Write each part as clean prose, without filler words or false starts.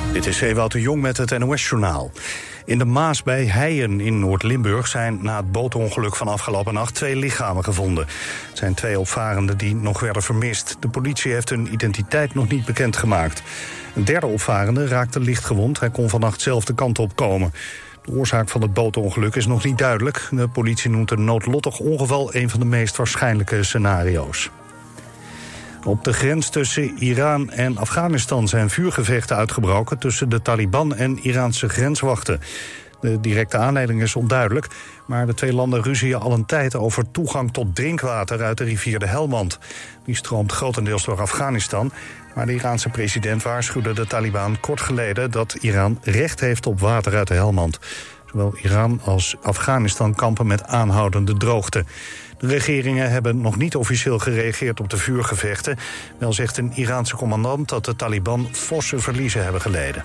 Dit is Ewout de Jong met het NOS-journaal. In de Maas bij Heijen in Noord-Limburg zijn na het bootongeluk van afgelopen nacht 2 lichamen gevonden. Het zijn 2 opvarenden die nog werden vermist. De politie heeft hun identiteit nog niet bekendgemaakt. Een derde opvarende raakte licht gewond. Hij kon vannacht zelf de kant op komen. De oorzaak van het bootongeluk is nog niet duidelijk. De politie noemt een noodlottig ongeval een van de meest waarschijnlijke scenario's. Op de grens tussen Iran en Afghanistan zijn vuurgevechten uitgebroken tussen de Taliban en Iraanse grenswachten. De directe aanleiding is onduidelijk, maar de 2 landen ruzien al een tijd over toegang tot drinkwater uit de rivier de Helmand. Die stroomt grotendeels door Afghanistan, maar de Iraanse president waarschuwde de Taliban kort geleden dat Iran recht heeft op water uit de Helmand. Zowel Iran als Afghanistan kampen met aanhoudende droogte. De regeringen hebben nog niet officieel gereageerd op de vuurgevechten. Wel zegt een Iraanse commandant dat de Taliban forse verliezen hebben geleden.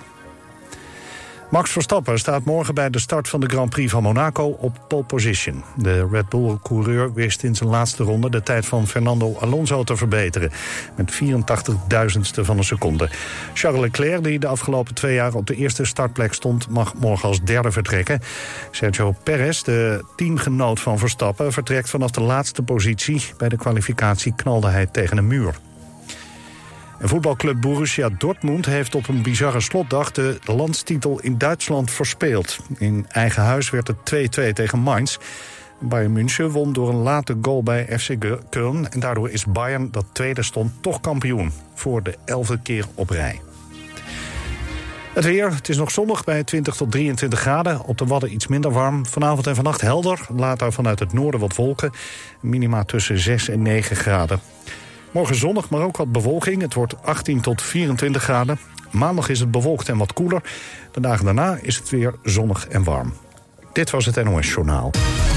Max Verstappen staat morgen bij de start van de Grand Prix van Monaco op pole position. De Red Bull-coureur wist in zijn laatste ronde de tijd van Fernando Alonso te verbeteren. Met 84.000ste van een seconde. Charles Leclerc, die de afgelopen 2 jaar op de eerste startplek stond, mag morgen als derde vertrekken. Sergio Perez, de teamgenoot van Verstappen, vertrekt vanaf de laatste positie. Bij de kwalificatie knalde hij tegen een muur. En voetbalclub Borussia Dortmund heeft op een bizarre slotdag de landstitel in Duitsland verspeeld. In eigen huis werd het 2-2 tegen Mainz. Bayern München won door een late goal bij FC Köln. En daardoor is Bayern, dat tweede stond, toch kampioen. Voor de 11e keer op rij. Het weer, het is nog zonnig bij 20 tot 23 graden. Op de Wadden iets minder warm. Vanavond en vannacht helder. Later vanuit het noorden wat wolken. Minima tussen 6 en 9 graden. Morgen zonnig, maar ook wat bewolking. Het wordt 18 tot 24 graden. Maandag is het bewolkt en wat koeler. De dagen daarna is het weer zonnig en warm. Dit was het NOS Journaal.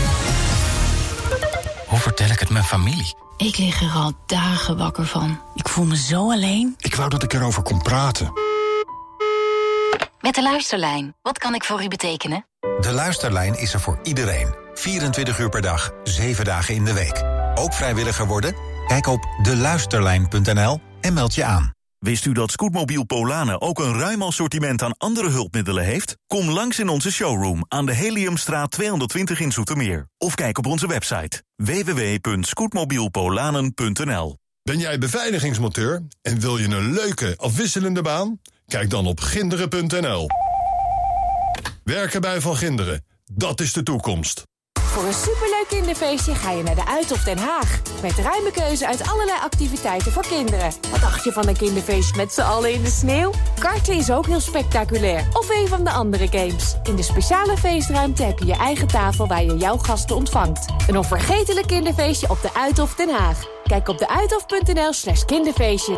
Hoe vertel ik het mijn familie? Ik lig er al dagen wakker van. Ik voel me zo alleen. Ik wou dat ik erover kon praten. Met de Luisterlijn. Wat kan ik voor u betekenen? De Luisterlijn is er voor iedereen. 24 uur per dag, 7 dagen in de week. Ook vrijwilliger worden? Kijk op deluisterlijn.nl en meld je aan. Wist u dat Scootmobiel Polanen ook een ruim assortiment aan andere hulpmiddelen heeft? Kom langs in onze showroom aan de Heliumstraat 220 in Zoetermeer. Of kijk op onze website www.scootmobielpolanen.nl. Ben jij beveiligingsmonteur en wil je een leuke, afwisselende baan? Kijk dan op ginderen.nl. Werken bij Van Ginderen, dat is de toekomst. Voor een superleuk kinderfeestje ga je naar de Uithof Den Haag. Met ruime keuze uit allerlei activiteiten voor kinderen. Wat dacht je van een kinderfeestje met z'n allen in de sneeuw? Karten is ook heel spectaculair. Of een van de andere games. In de speciale feestruimte heb je je eigen tafel waar je jouw gasten ontvangt. Een onvergetelijk kinderfeestje op de Uithof Den Haag. Kijk op deuithof.nl/kinderfeestje.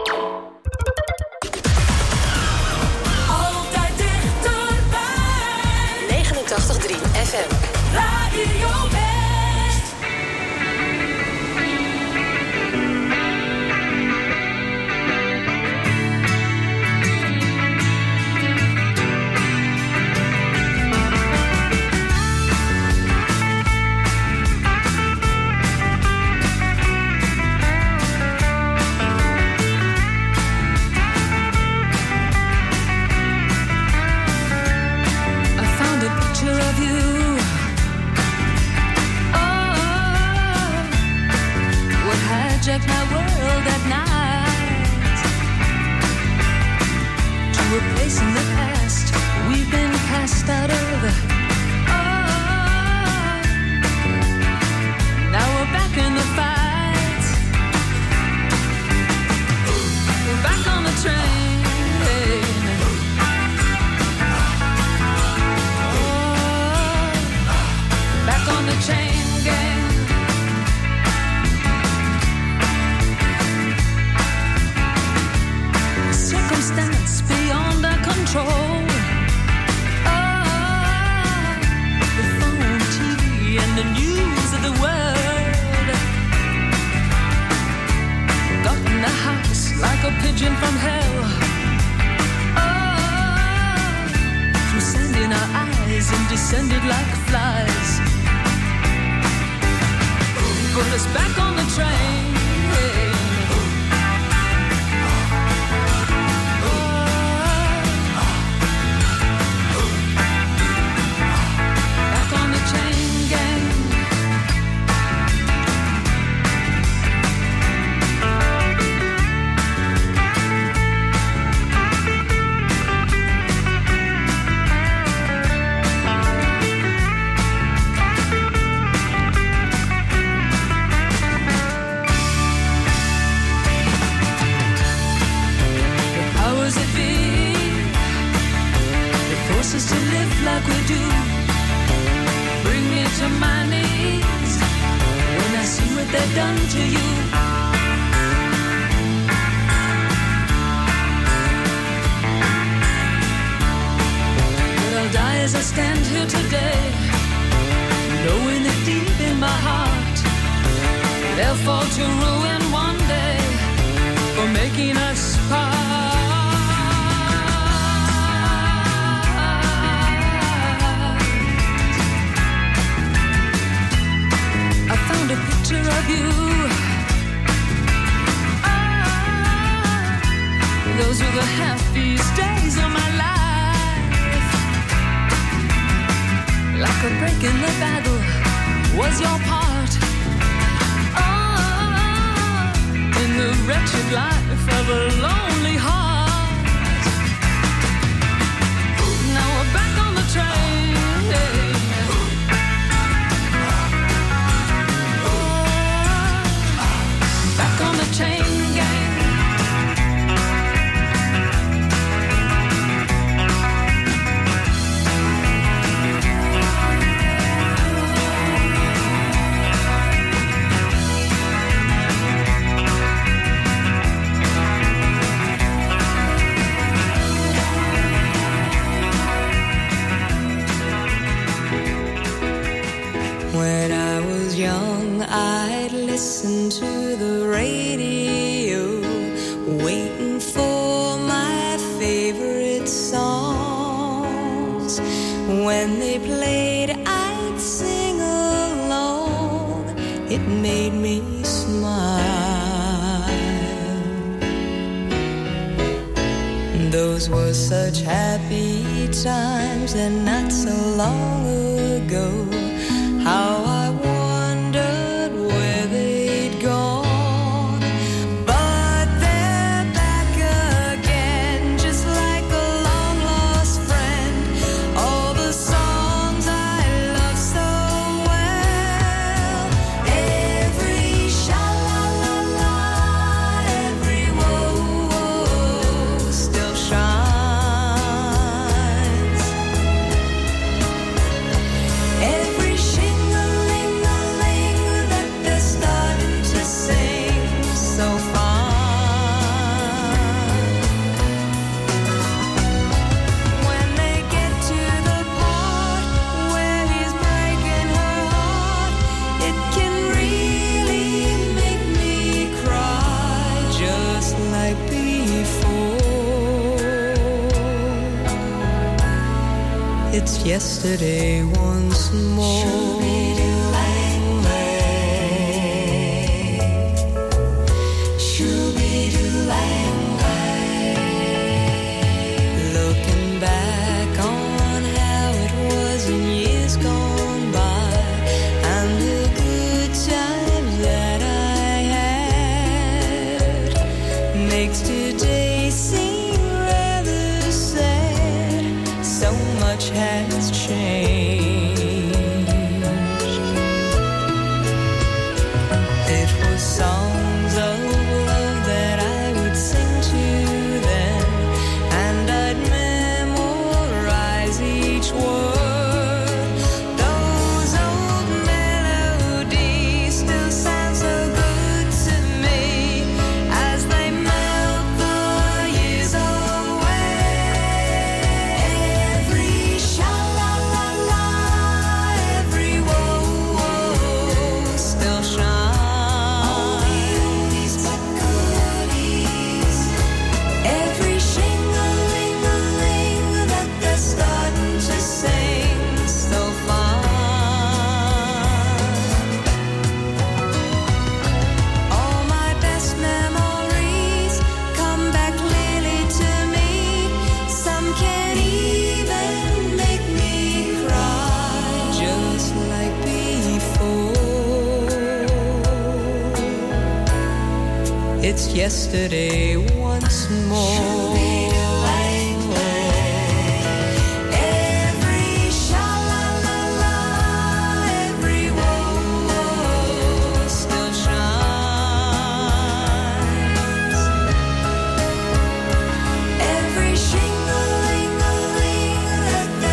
Altijd dichterbij. 89.3 FM. Radio West. I found a picture of you. Hijack my world at night to a place in the past we've been cast out of. Oh, now we're back in the fight. We're back on the train. Oh, back on the chain gang. Circumstance beyond our control. Oh, the phone, TV, and the news of the world got in the house like a pigeon from hell. Oh, through sand in our eyes and descended like flies. Put us back on the train. us to live like we do. Bring me to my knees when I see what they've done to you. But I'll die as I stand here today, knowing that deep in my heart they'll fall to ruin one day for making us part. I found a picture of you. Those were the happiest days of my life. Like a break in the battle was your part. In the wretched life of a lonely heart. Now we're back on the train. Back on the chain gang. When I was young, I'd listen to the radio, waiting for my favorite songs. When they played, I'd sing along. It made me smile. Those were such happy times, and not so long ago. How I wondered where they'd gone. But they're back again, just like a long-lost friend. All the songs I love so well. Every sha-la-la-la, every whoa-whoa still shines. Every it's yesterday once more. Looking back on how it was in years gone by, and the good times that I had, makes today seem rather sad. So much has changed. It was songs of love that I would sing to them, and I'd memorize each word. Those old melodies still sound so good to me as they melt the years away. Every sha-la-la-la, every whoa-whoa still shines. All the oldies but goodies. Every shing-a-ling-a-ling that they're starting to sing so fine. All my best memories come back clearly to me. Some can even make me cry, just like before. It's yesterday once more. Every sha-la-la-la, every whoa-whoa still shines. Every shing-a-ling-a-ling that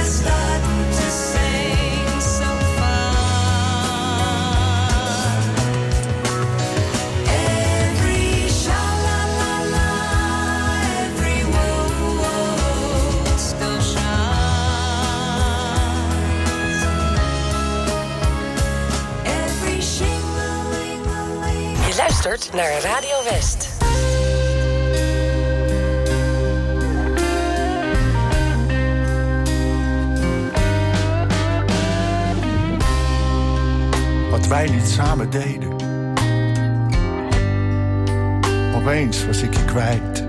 luistert naar Radio West. Wat wij niet samen deden. Opeens was ik je kwijt.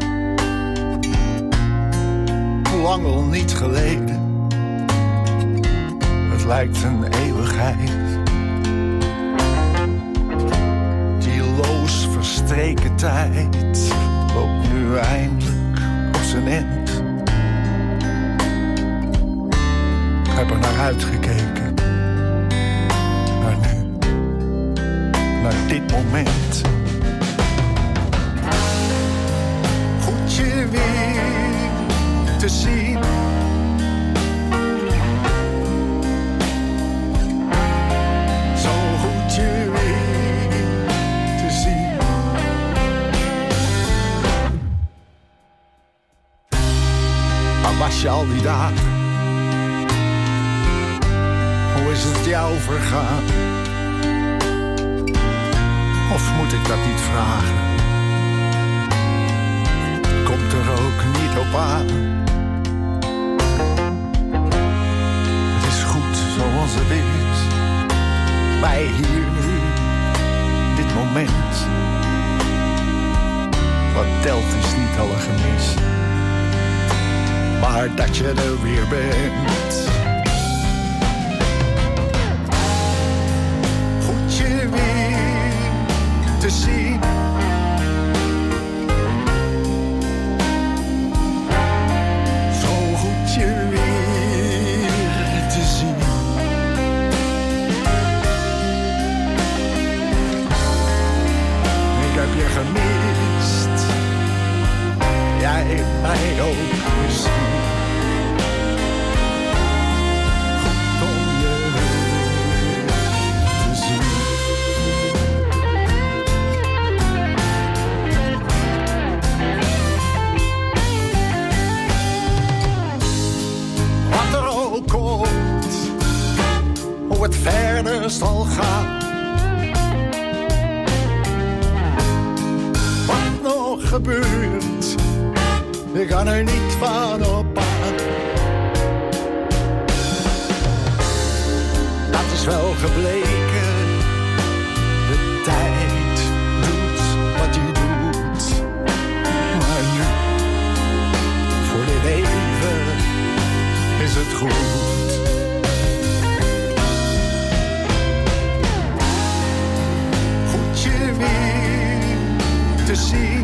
Lang al niet geleden. Het lijkt een eeuwigheid. Dieloos verstreken tijd loopt nu eindelijk op zijn end. Ik heb er naar uitgekeken. Naar nu. Naar dit moment. Goed je weer te zien. Zo goed je weer te zien. Waar was je al die dagen? Hoe is het jou vergaan? Of moet ik dat niet vragen? Komt er ook niet op aan. Het is goed zoals het is. Wij hier nu, dit moment. Wat telt is niet alle gemis. Maar dat je er weer bent. Goed je weer te zien. Gemist, jij mij ook misschien. Goed om je te zien. Wat er ook komt, hoe het verder zal gaan. Gebeurt, ik kan er niet van op aan. Dat is wel gebleken, de tijd doet wat hij doet. Maar nu, voor dit even, is het goed. Goed je weer te zien.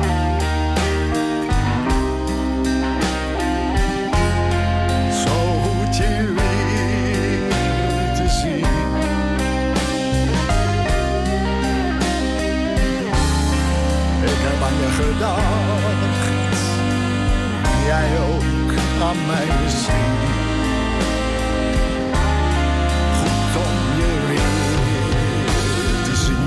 Gedacht, jij ook aan mij misschien. Goed om je weer te zien.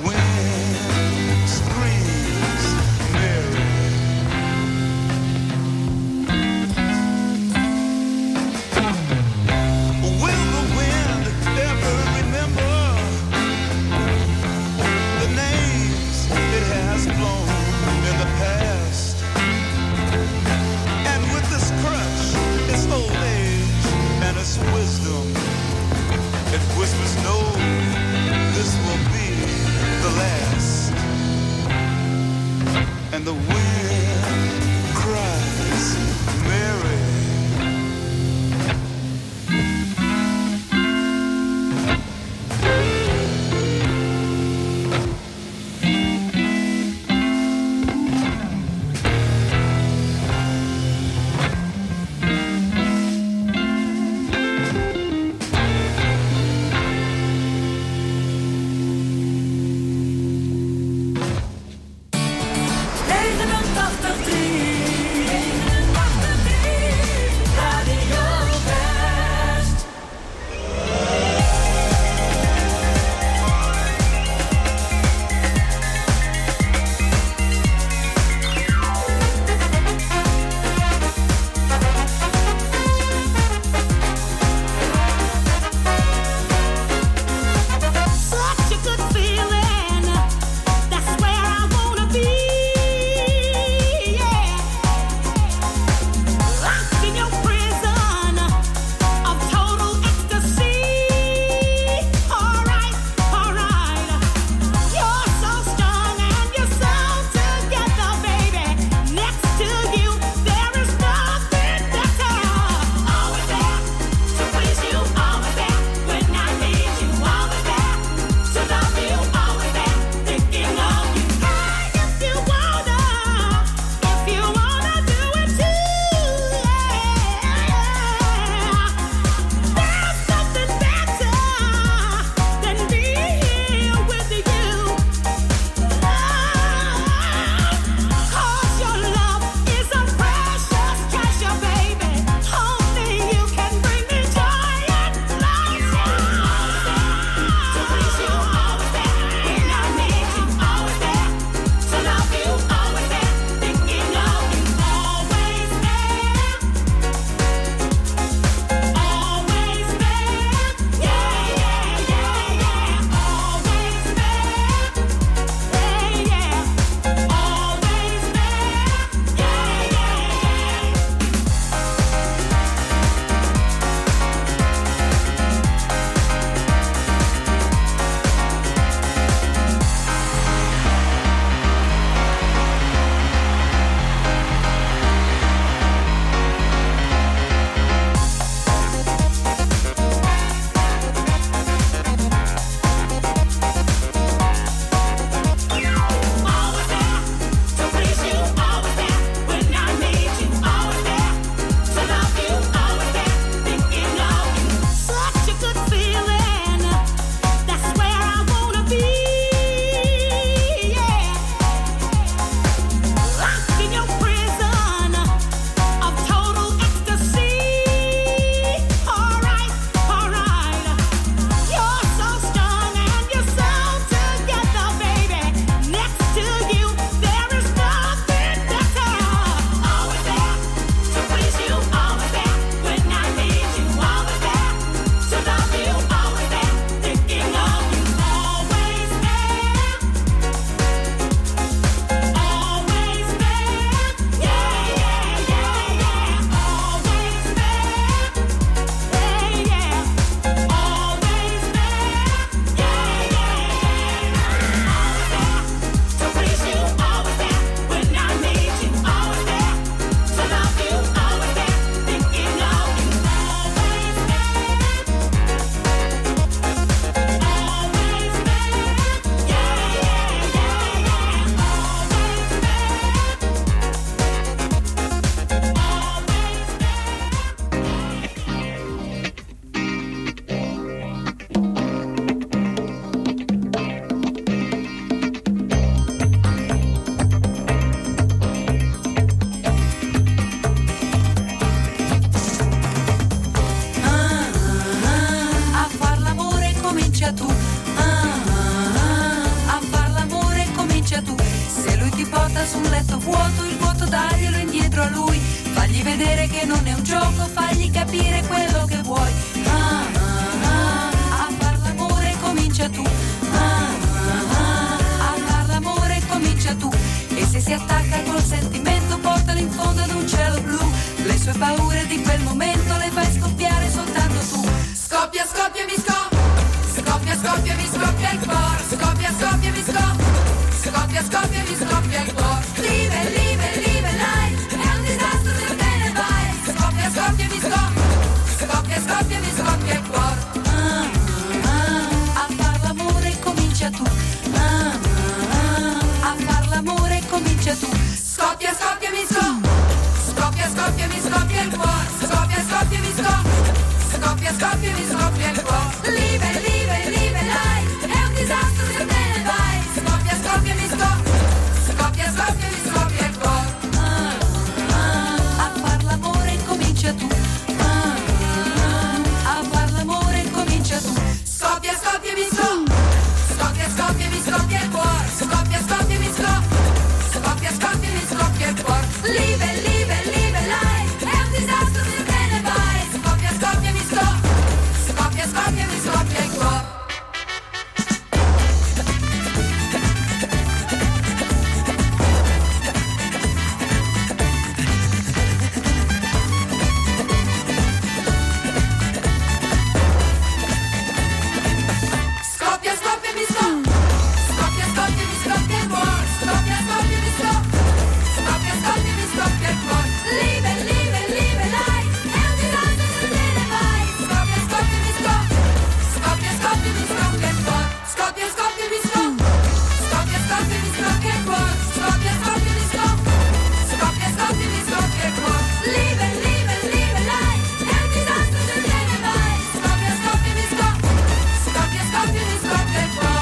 wind screams Mary. Will the wind ever remember the names it has blown in the past? And with this crutch, its old age and its wisdom, it whispers no, this will be the last. sola su un letto vuoto, il vuoto daglielo indietro a lui. Fagli vedere che non è un gioco, fagli capire quello che vuoi. A far l'amore comincia tu. A far l'amore comincia tu. E se si attacca col sentimento, portalo in fondo ad un cielo blu. Le sue paure di quel momento le fai scoppiare soltanto tu. Scoppia, scoppia, mi scoppia. Scoppia, scoppia, mi scoppia il cuore. Scoppia, scoppia, mi scoppia. Scoppia, scoppia, mi scoppia il cuore. Live, live, live life. È un disastro se te ne vai. Scoppia, scoppia, mi scoppia. Scoppia, scoppia, mi scoppia il cuore. A far l'amore comincia tu. A far l'amore comincia tu. Scoppia, scoppia, mi scoppia. Scoppia, scoppia, mi scoppia il cuore. Scoppia, scoppia, mi scoppia. Scoppia, scoppia, mi scoppia il cuore. Live, live, live life. È un disastro se te ne vai. Scoppia, scoppia, mi scoppia. Scoppia, scoppia, mi scoppia il cuore. A far l'amore comincia tu. A far l'amore comincia tu. Scoppia, scoppia, mi scoppia. Scoppia, scoppia, mi scoppia il cuore. Scoppia, scoppia, mi scoppia. Scoppia, scoppia, mi scoppia il cuore. Live, live, live life. È un disastro se te ne vai. Scoppia, scoppia, mi scoppia. Scoppia, scoppia, mi scoppia il cuore. Scoppia, scoppia, mi scoppia. Scoppia, scoppia, mi scoppia il cuore. Scoppia, scoppia, mi scoppia. Scoppia, scoppia, mi scoppia il cuore. Live, live, live life. È un disastro se te ne vai. Scoppia, scoppia, mi scoppia. Scoppia, scoppia, mi scoppia il cuore. Scoppia, scoppia, mi scoppia. Scoppia, scoppia, mi scoppia il cuore. Scoppia, scoppia, mi scoppia. Scoppia, scoppia, mi scoppia il cuore. Live, live, live life. È un disastro se te ne vai. Scoppia, scoppia, mi scoppia. Scoppia, scoppia, mi scoppia il cuore.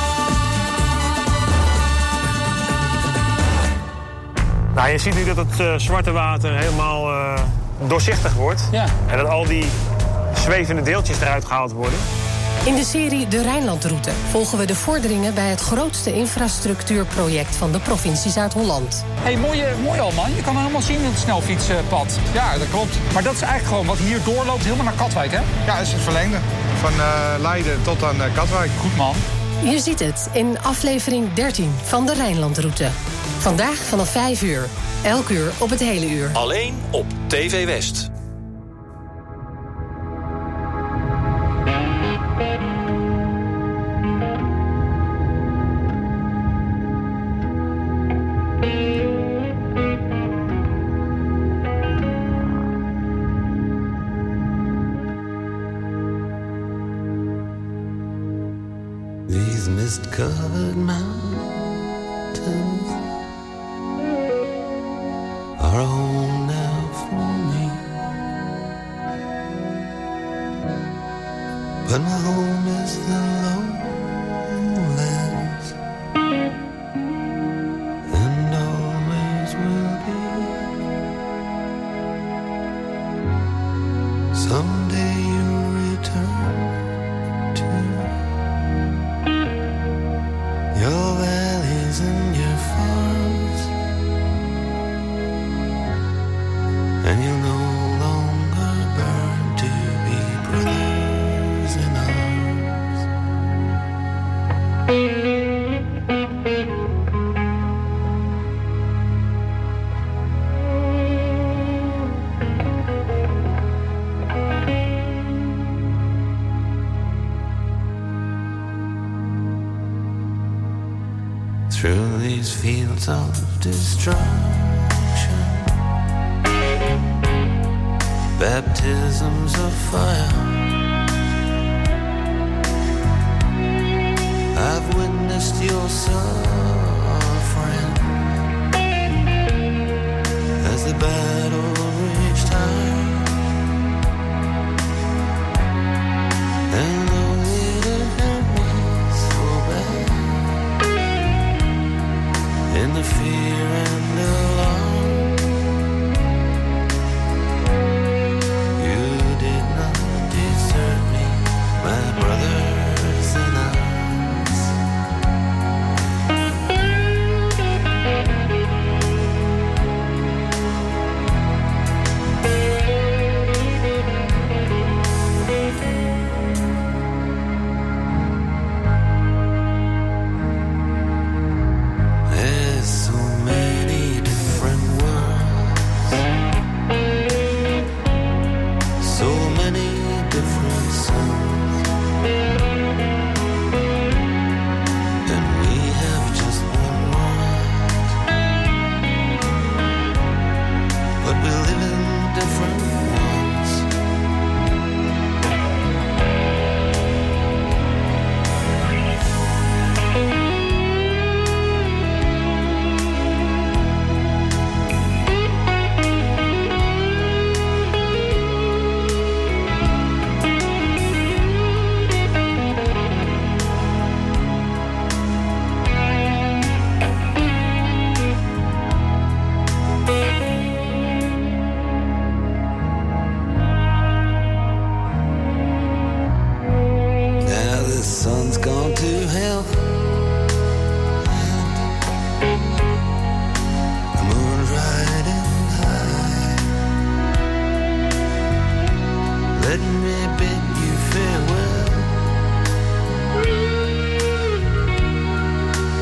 Nou, je ziet nu dat het zwarte water helemaal doorzichtig wordt. Ja. En dat al die zwevende deeltjes eruit gehaald worden. In de serie De Rijnlandroute volgen we de vorderingen bij het grootste infrastructuurproject van de provincie Zuid-Holland. Hey, mooi al, man. Je kan helemaal zien het snelfietspad. Ja, dat klopt. Maar dat is eigenlijk gewoon wat hier doorloopt helemaal naar Katwijk, hè? Ja, dat is het verlengde. Van Leiden tot aan Katwijk. Goed, man. Je ziet het in aflevering 13 van De Rijnlandroute. Vandaag vanaf 5 uur. Elk uur op het hele uur. Alleen op TV West. These mist-covered mountains are a home now for me, but my home is the lowlands, and always will be. Someday you'll return to your valleys and your farms, and you'll no longer burn to be brothers in arms. Through these fields of destruction, baptisms of fire, I've witnessed your suffering as the battle reached high, and though it hurt me so bad, in the fear and alarm, you did not desert me, my brothers in arms.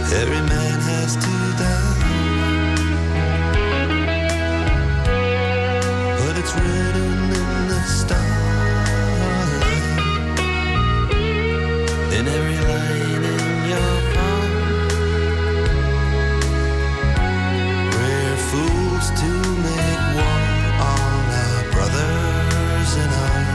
Every man has to die, but it's written in the starlight, in every line in your palm. We're fools to make war on our brothers in arms.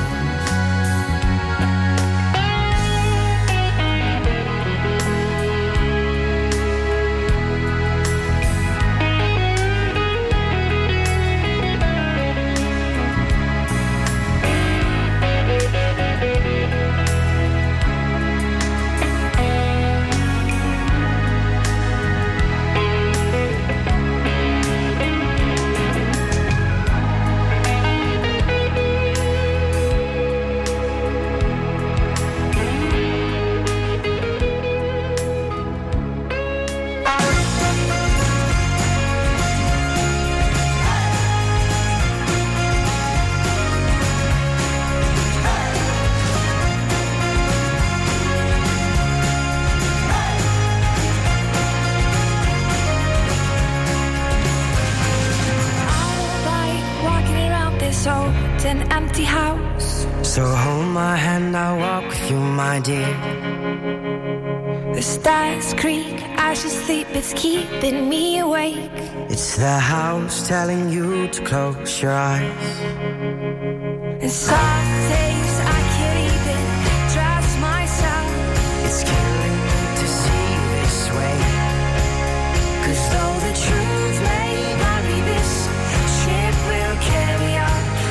An empty house. So hold my hand, I'll walk with you, my dear. The stars creak as you sleep, it's keeping me awake. It's the house telling you to close your eyes. And some days I can't even trust myself. It's killing me to see this way. 'Cause though the truth may vary, this ship will carry on.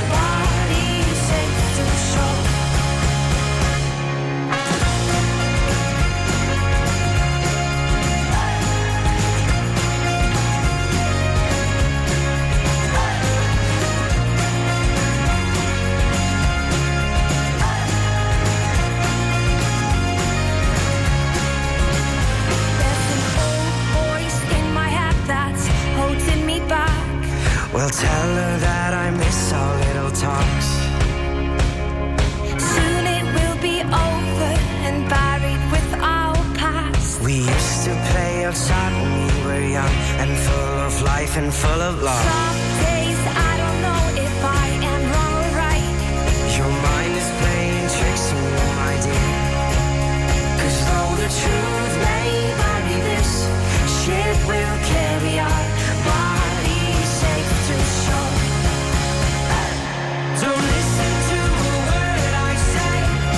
Well, tell her that I miss our little talks. Soon it will be over and buried with our past. We used to play outside when we were young and full of life and full of love. Some days I don't know if I am wrong or right. Your mind is playing tricks on you, my dear. 'Cause though the truth may vary, this ship will carry our bodies safe to shore. Don't listen to a word I say.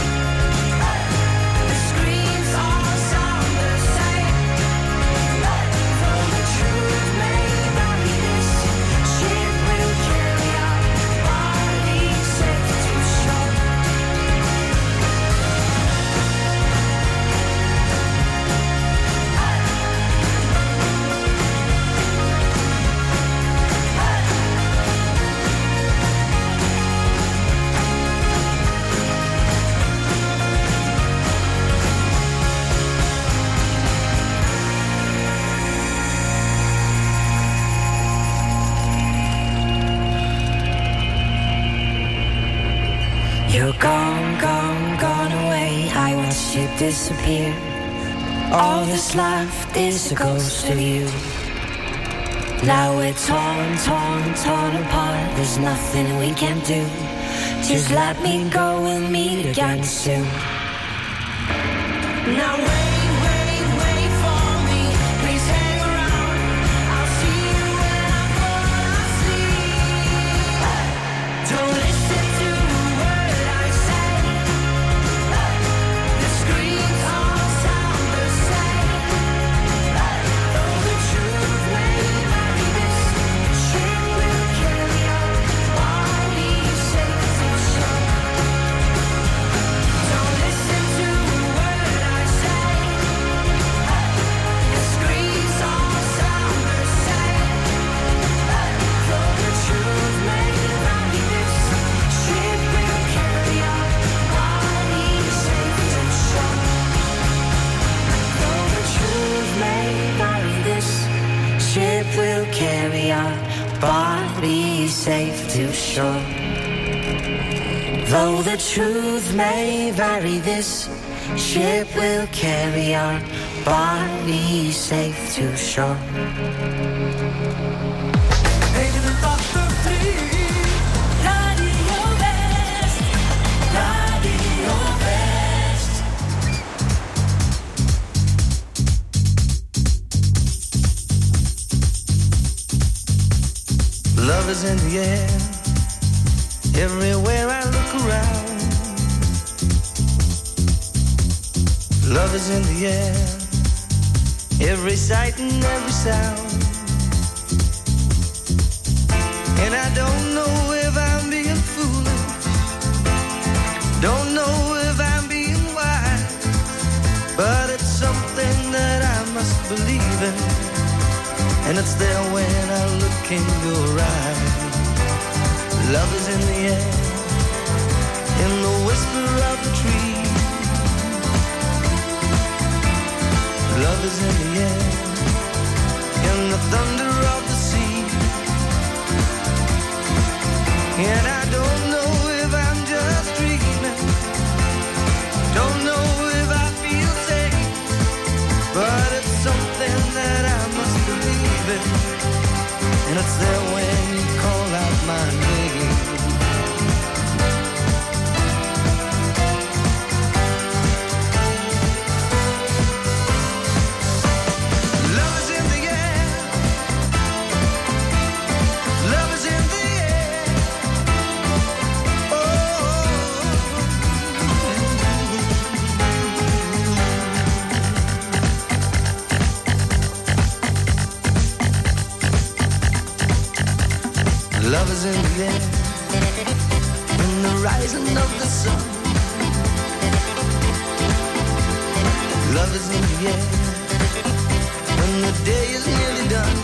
The screams all sound the same. Though the truth may vary, this ship will carry our bodies safe to shore. You're gone, gone, gone away. I watched you disappear. All that's left is a ghost of you. Now we're torn, torn, torn apart. There's nothing we can do. Just let me go, we'll meet again soon. Now wait, wait, wait for me. Please hang around. I'll see you when I'm gone asleep. Don't listen to a word I say. The screams all sound the same. Though the truth may vary, this ship will carry our bodies safe to shore. Don't listen to a word I say. The screams all sound the same. Though the truth may vary, this ship will carry our bodies safe to shore. Though the truth may vary, this ship will carry our bodies safe to shore. Though the truth may vary, this ship will carry our body safe to shore. 89.3 Radio West, Radio West. Love is in the air, everywhere I look around. Love is in the air, every sight and every sound. And I don't know if I'm being foolish, don't know if I'm being wise, but it's something that I must believe in, and it's there when I look in your eyes. Love is in the air, in the whisper of the tree. Love is in the air, in the thunder of the sea. And I don't know if I'm just dreaming, don't know if I feel safe, but it's something that I must believe in, and it's there when you call out my name. Love is in the air, in the rising of the sun. Love is in the air, when the day is nearly done.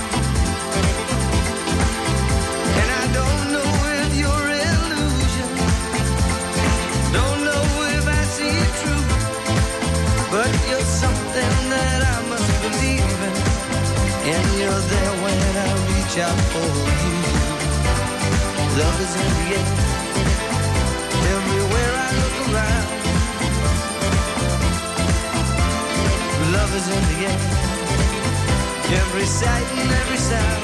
And I don't know if you're illusion, don't know if I see it true, but you're something that I must believe in, and you're there when I reach out for you. Love is in the air, everywhere I look around. Love is in the air, every sight and every sound.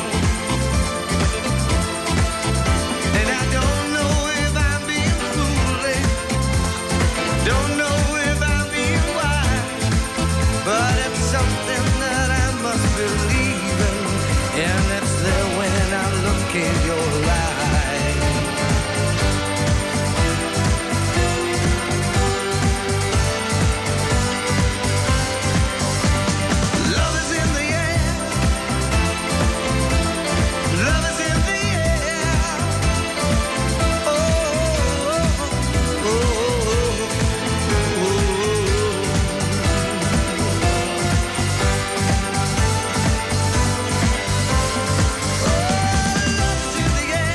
And I don't know if I'm being foolish, don't know if I'm being wise, but it's something that I must believe in, and it's there when I look in your eyes. The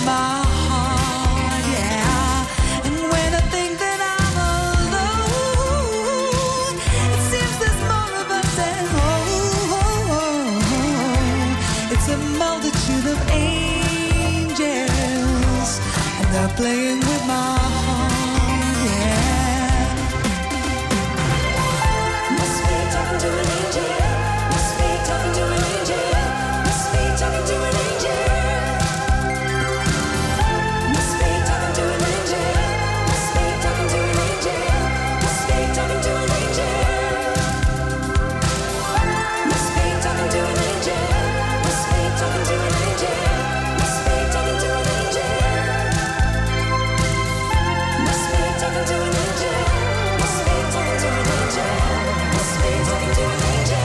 my heart, yeah. And when I think that I'm alone, it seems there's more of us at home. It's a multitude of angels, and they're playing with my heart, yeah. Must be talking to an angel. Must be talking to an angel. Must be talking to an angel. Must be talking to an angel. Must be talking to an angel. Must be talking to an angel. Must be talking to an angel. Must be talking to an angel. Must be talking to an angel. Must be talking to an angel. Must be talking to an angel. Must be talking to an angel.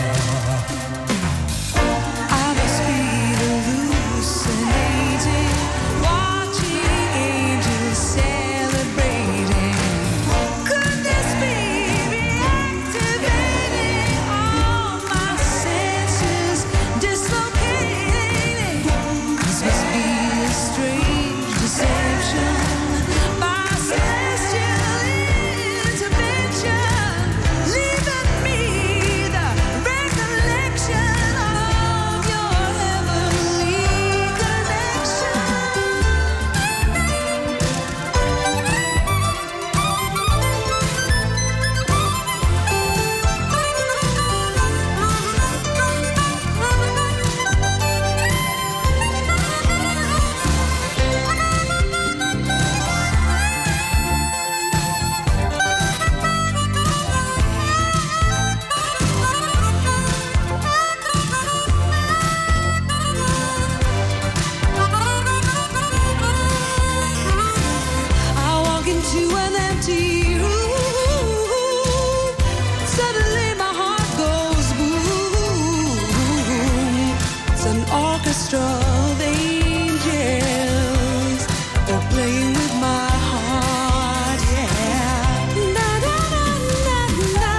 I must be hallucinating, watching angels celebrating. Could this be reactivating all my senses, dislocating? This must be a strange deception, my celestial intervention, leaving me the recollection of your heavenly connection. I walk into an empty room. Suddenly my heart goes boom. It's an orchestra of angels. They're playing with my heart, yeah. Na na na na na.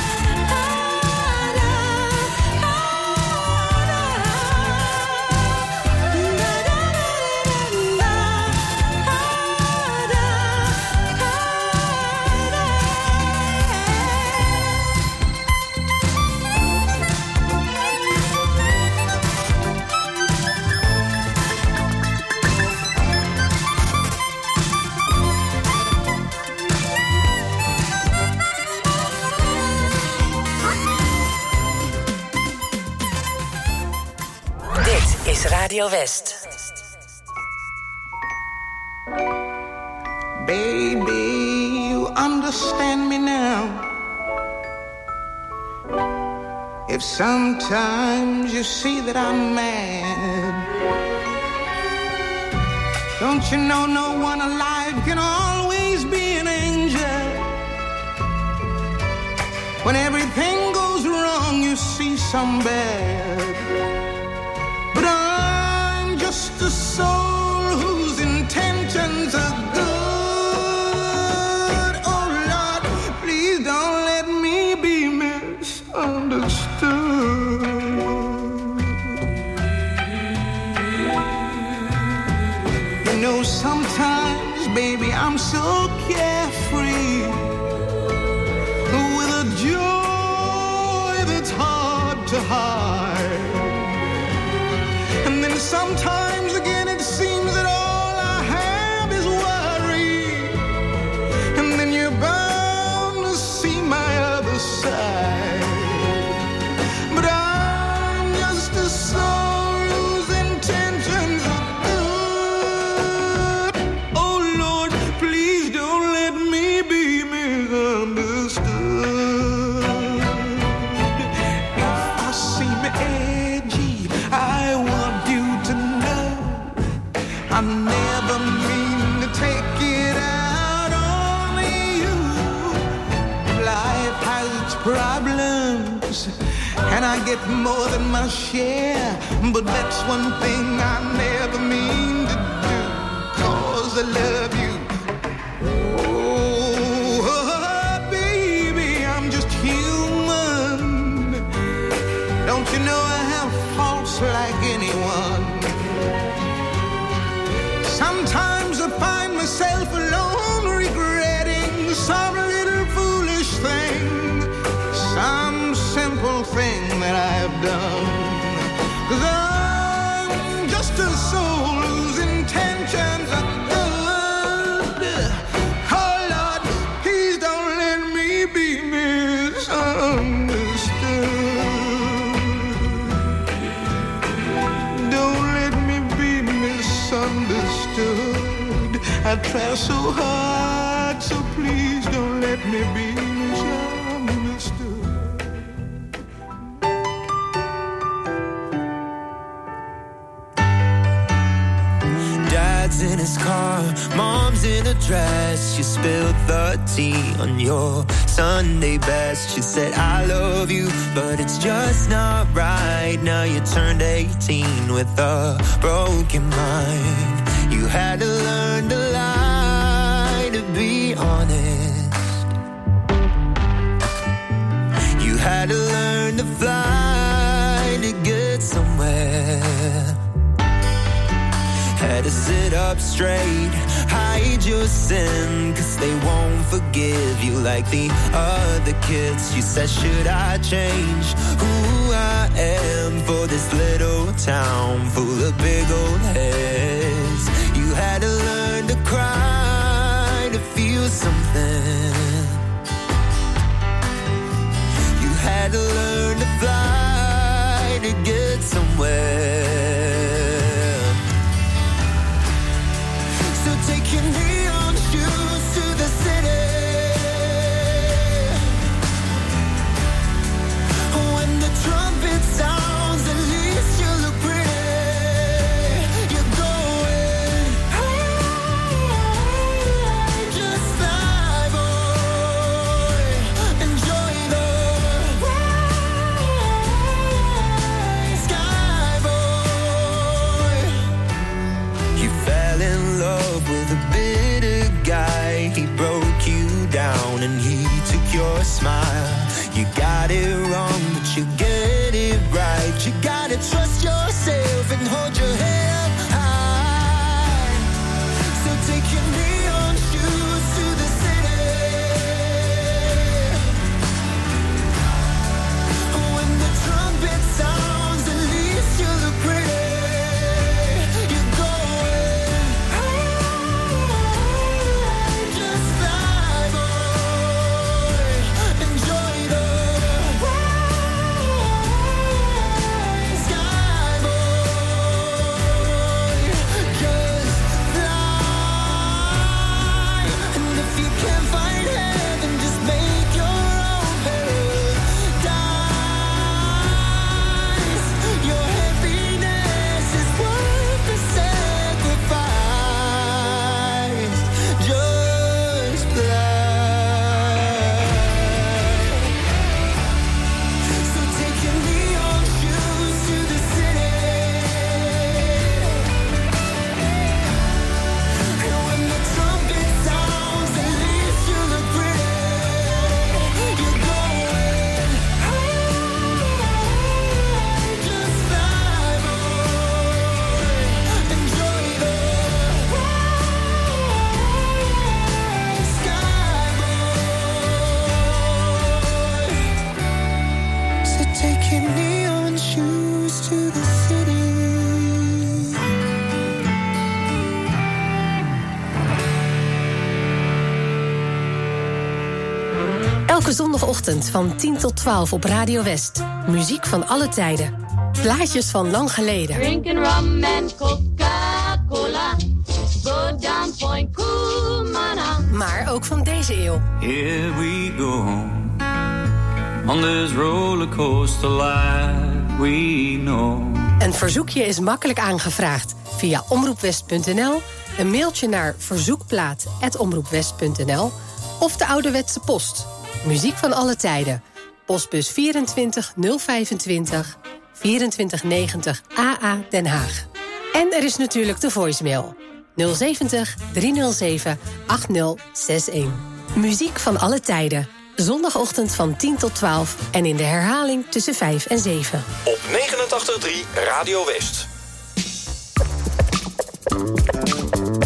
Dit is Radio West. Baby, you understand me now. If sometimes you see that I'm mad, don't you know no one alive can always be an angel? When everything goes wrong, you see some bad. But I'm just a soul whose intentions are good. Oh Lord, please don't let me be misunderstood. You know, sometimes, baby, I'm so carefree, with a joy that's hard to hide. And then sometimes again it seems that all I have is worry. And then you're bound to see my other side. But I'm just a soul whose intentions are good. Oh Lord, please don't let me be misunderstood. If I seem edgy, I want you to know I never mean to take it out on you. Life has its problems, and I get more than my share. But that's one thing I never mean to do, 'cause I love you. Oh, baby, I'm just human. Don't you know I have faults like anyone? Sometimes I find myself alone, regretting some little foolish thing, some simple thing that I've done. 'Cause I'm just a soul whose intentions are good. Oh Lord, please don't let me be misunderstood. Don't let me be misunderstood. I try so hard, so please don't let me be misunderstood. Dad's in his car, mom's in a dress. She spilled the tea on your Sunday best. She said, I love you, but it's just not right. Now you turned 18 with a broken mind. You had to learn to lie, to be honest. You had to learn to fly, to get somewhere. Had to sit up straight, hide your sin, 'cause they won't forgive you like the other kids. You said, should I change who I am for this little town full of big old heads? You had to learn to cry, to feel something. You had to learn to fly, to get somewhere. So take your neon shoes to the city. When the trumpet sounds, at least you look pretty. You're going high, just fly, boy. Enjoy the ride, sky, boy. You fell in love with a bitter guy. He broke you down and he took your smile. You got it wrong, but you get it right. You gotta trust yourself and hold your head up high. So take your neon shoes to the city. When the trumpet sounds, at least you look pretty. You're going high, just fly, boy. Enjoy the ride, sky, boy. Just fly. And if you can't find heaven, just make your own paradise. Your happiness is worth the sacrifice. Just fly. So take your neon shoes to the city. And when the trumpet sounds, at least you look pretty. You're going high, just fly, boy. Enjoy the ride, sky, boy. So take your neon shoes to the city. Elke zondagochtend van 10 tot 12 op Radio West. Muziek van alle tijden. Plaatjes van lang geleden. Drinking rum and Coca-Cola. Go down Point Kumana. Maar ook van deze eeuw. Here we go on this rollercoaster life we know. Een verzoekje is makkelijk aangevraagd via omroepwest.nl, een mailtje naar verzoekplaat@omroepwest.nl of de ouderwetse post. Muziek van alle tijden. Postbus 24 025 2490 AA Den Haag. En er is natuurlijk de voicemail 070 307 8061. Muziek van alle tijden. Zondagochtend van 10 tot 12 en in de herhaling tussen 5 en 7. Op 89.3 Radio West.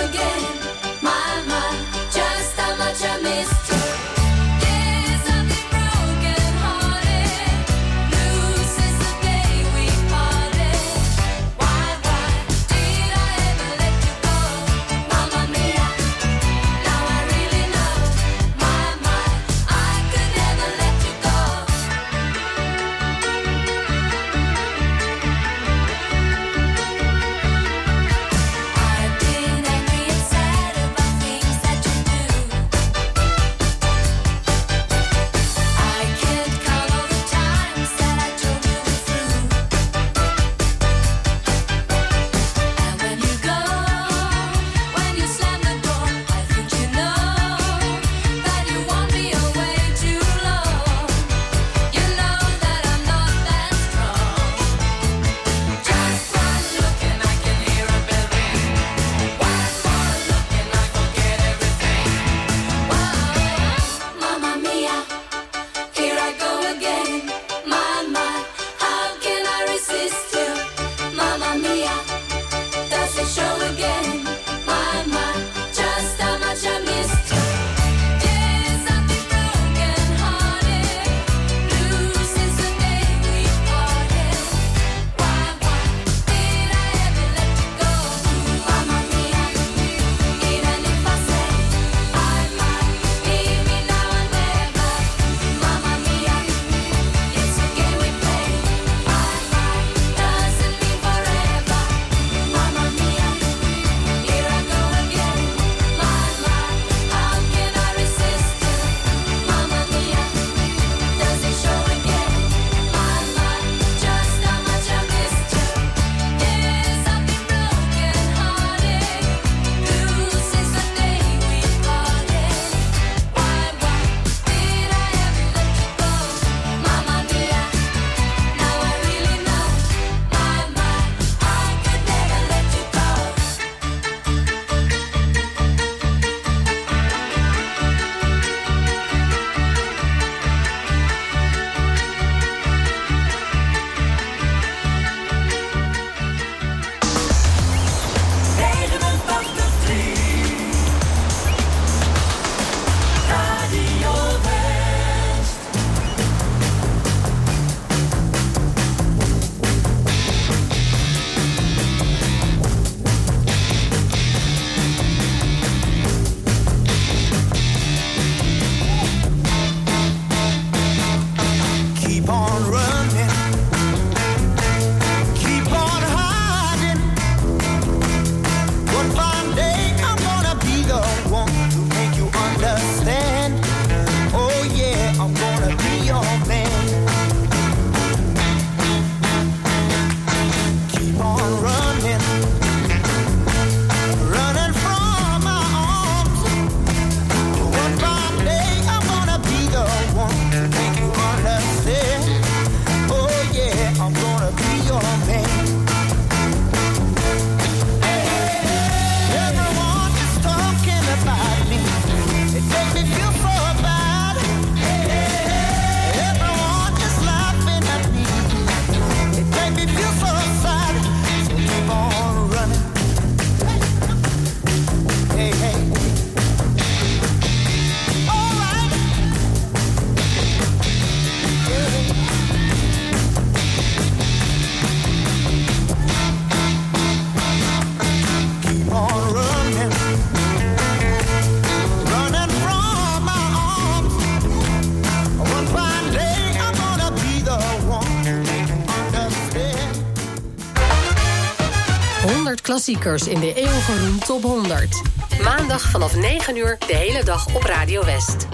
klassiekers in de eeuwige Top 100. Maandag vanaf 9 uur de hele dag op Radio West.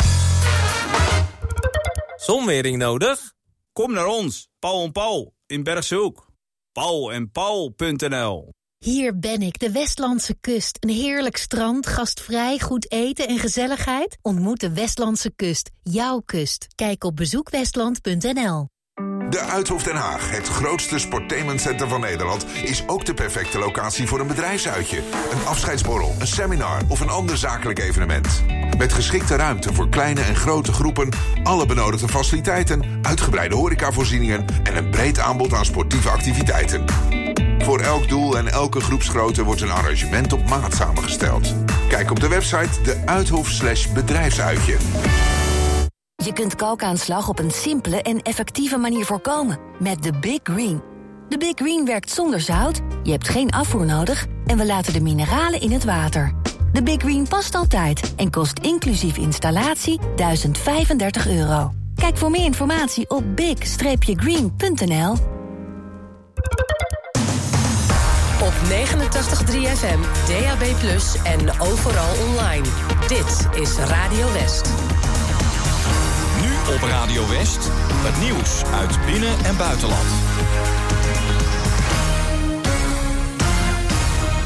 Zonwering nodig? Kom naar ons, Paul en Paul in Bergshoek. paulenpaul.nl. Hier ben ik, de Westlandse kust. Een heerlijk strand, gastvrij, goed eten en gezelligheid. Ontmoet de Westlandse kust, jouw kust. Kijk op bezoekwestland.nl. De Uithof Den Haag, het grootste sportainmentcenter van Nederland, is ook de perfecte locatie voor een bedrijfsuitje, een afscheidsborrel, een seminar of een ander zakelijk evenement. Met geschikte ruimte voor kleine en grote groepen, alle benodigde faciliteiten, uitgebreide horecavoorzieningen en een breed aanbod aan sportieve activiteiten. Voor elk doel en elke groepsgrootte wordt een arrangement op maat samengesteld. Kijk op de website deuithof/bedrijfsuitje. Je kunt kalkaanslag op een simpele en effectieve manier voorkomen. Met de Big Green. De Big Green werkt zonder zout, je hebt geen afvoer nodig... en we laten de mineralen in het water. De Big Green past altijd en kost inclusief installatie €1035. Kijk voor meer informatie op big-green.nl. Op 89.3 FM, DAB+ en overal online. Dit is Radio West. Nu op Radio West, het nieuws uit binnen- en buitenland.